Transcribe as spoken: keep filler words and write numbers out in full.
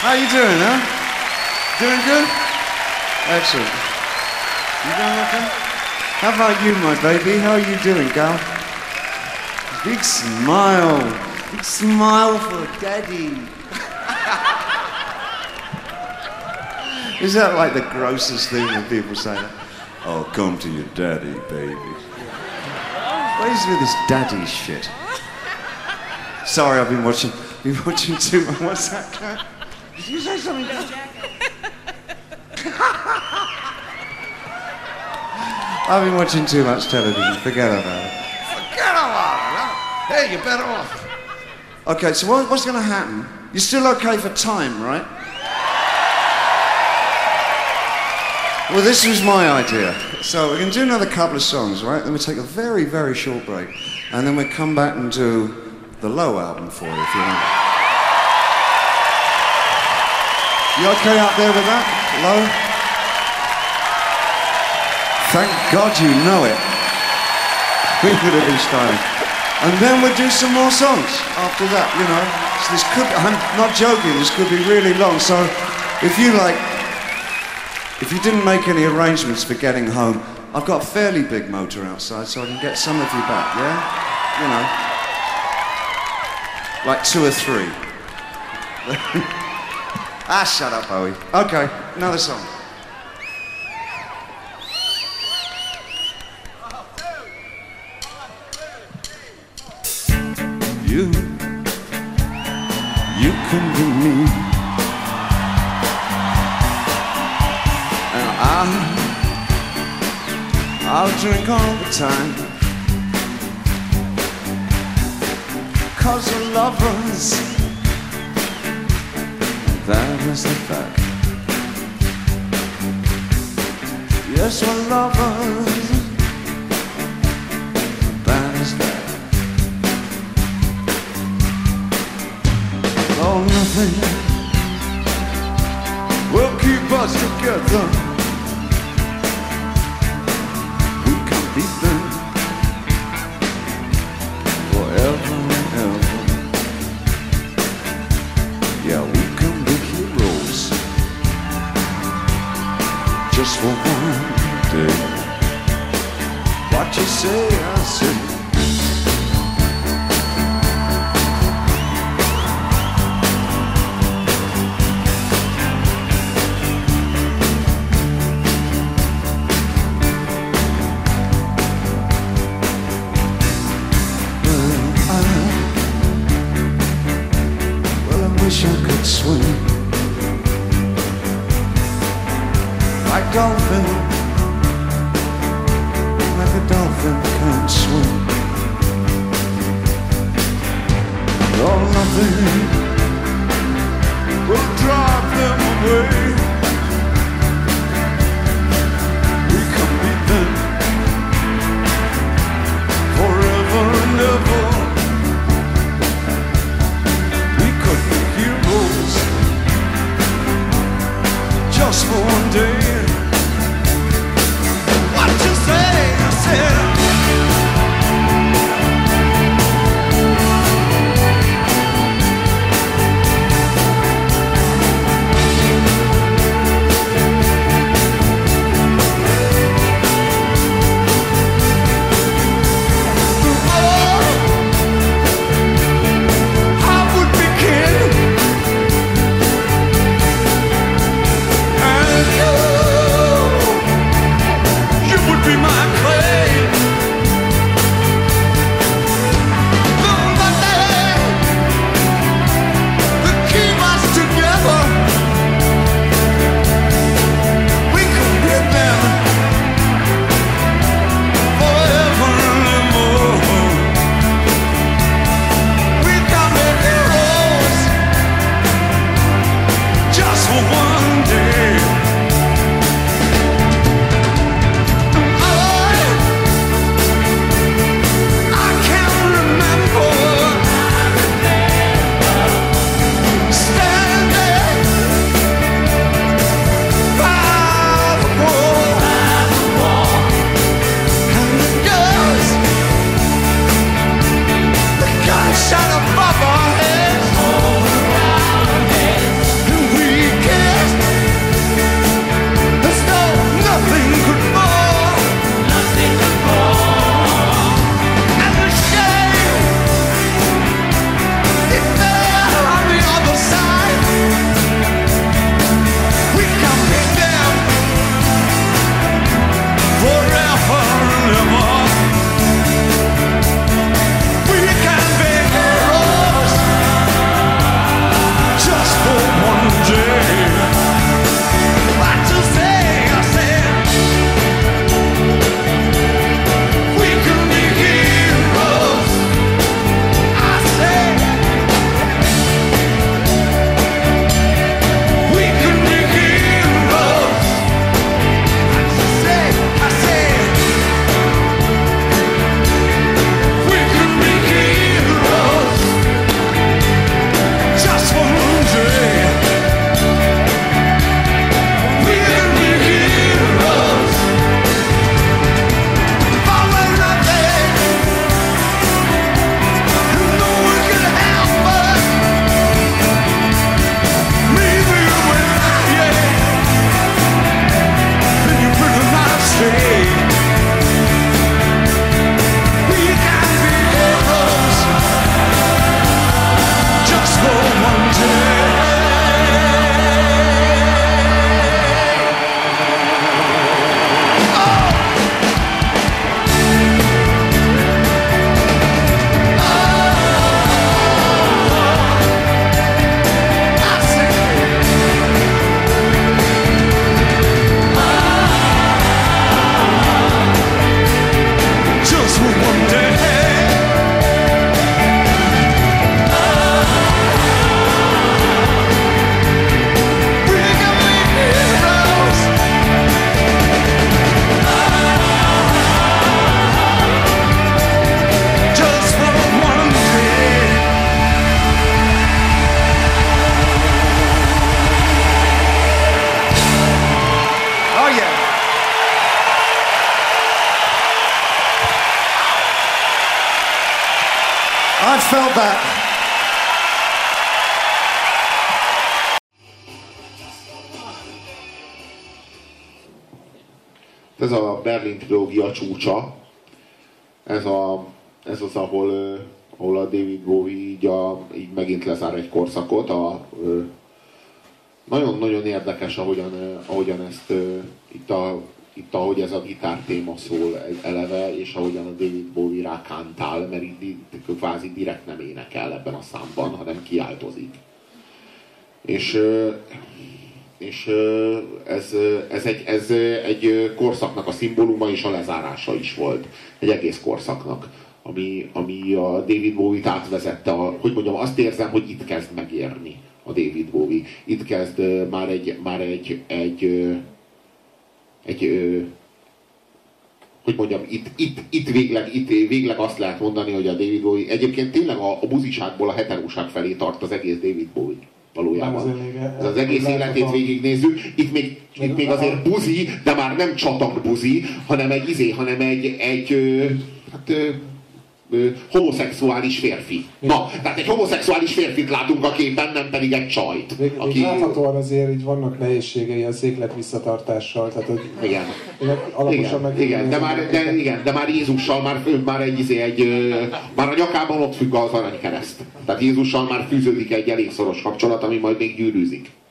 How you doing, huh? Doing good? Excellent. You doing okay? How about you, my baby? How are you doing, gal? Big smile. Big smile for daddy. Is that like the grossest thing when people say that? Oh, come to your daddy, baby. What is with this daddy shit? Sorry, I've been watching, been watching too much. What's that, Kat? Did you say something? I've been watching too much television. Forget about it. Forget about it, huh? Hey, you're better off. Okay, so what, what's going to happen? You're still okay for time, right? Well, this was my idea. So we're going to do another couple of songs, right? Then we'll take a very, very short break. And then we'll come back and do the Low album for you, if you want. You okay out there with that? Low? Thank God you know it. We could have been starting. And then we'll do some more songs after that, you know. So this could, I'm not joking, this could be really long. So if you like, if you didn't make any arrangements for getting home, I've got a fairly big motor outside, so I can get some of you back, yeah? You know. Like two or three. Ah, shut up, Bowie. Okay, another song. You, you can be me, and I, I'll drink all the time, 'cause we're lovers, that is the fact. Yes, we're lovers, that is that. Oh, nothing will keep us together. We can beat them forever and ever. Yeah, we can be heroes just for one day. What you say, I say. Wish I could swim like dolphin, like a dolphin can swim. Oh, nothing will drive them away. We can beat them forever and ever. Just for one day. What you say? I said. that. Ez a Berlin trilógia csúcsa, ez, a, ez az, ahol, ahol a David Bowie így, a, így megint lezár egy korszakot. A, nagyon-nagyon érdekes, ahogyan, ahogyan ezt itt, a, itt ahogy ez a gitár téma szól eleve, és ahogyan a David Bowie rákántál, mert itt, itt kvázi direkt nem énekel ebben a számban, hanem kiáltozik. És és ez, ez, egy, ez egy korszaknak a szimbóluma és a lezárása is volt. Egy egész korszaknak, ami, ami a David Bowie-t átvezette. A, hogy mondjam, azt érzem, hogy itt kezd megérni a David Bowie. Itt kezd már egy, már egy, egy, egy, egy hogy mondjam, itt, itt, itt, végleg, itt végleg azt lehet mondani, hogy a David Bowie egyébként tényleg a, a buziságból a heteróság felé tart az egész David Bowie. Valójában. Ez az egész életét végignézzük. Itt még, itt még azért buzi, de már nem csatak buzi, hanem egy izé, hanem egy, egy hát, homoszexuális férfi. Na, tehát egy homoszexuális férfit látunk a képen, nem pedig egy csajt. Még, aki... még láthatóan azért így vannak nehézségei az éklet visszatartással. Tehát, hogy igen. Alaposan Igen, igen, de már, de, igen, de már Jézussal már, már egy, izé, egy már a nyakában ott függ az aranykereszt. Tehát Jézussal már fűződik egy elég szoros kapcsolat, ami majd még gyűrűzik.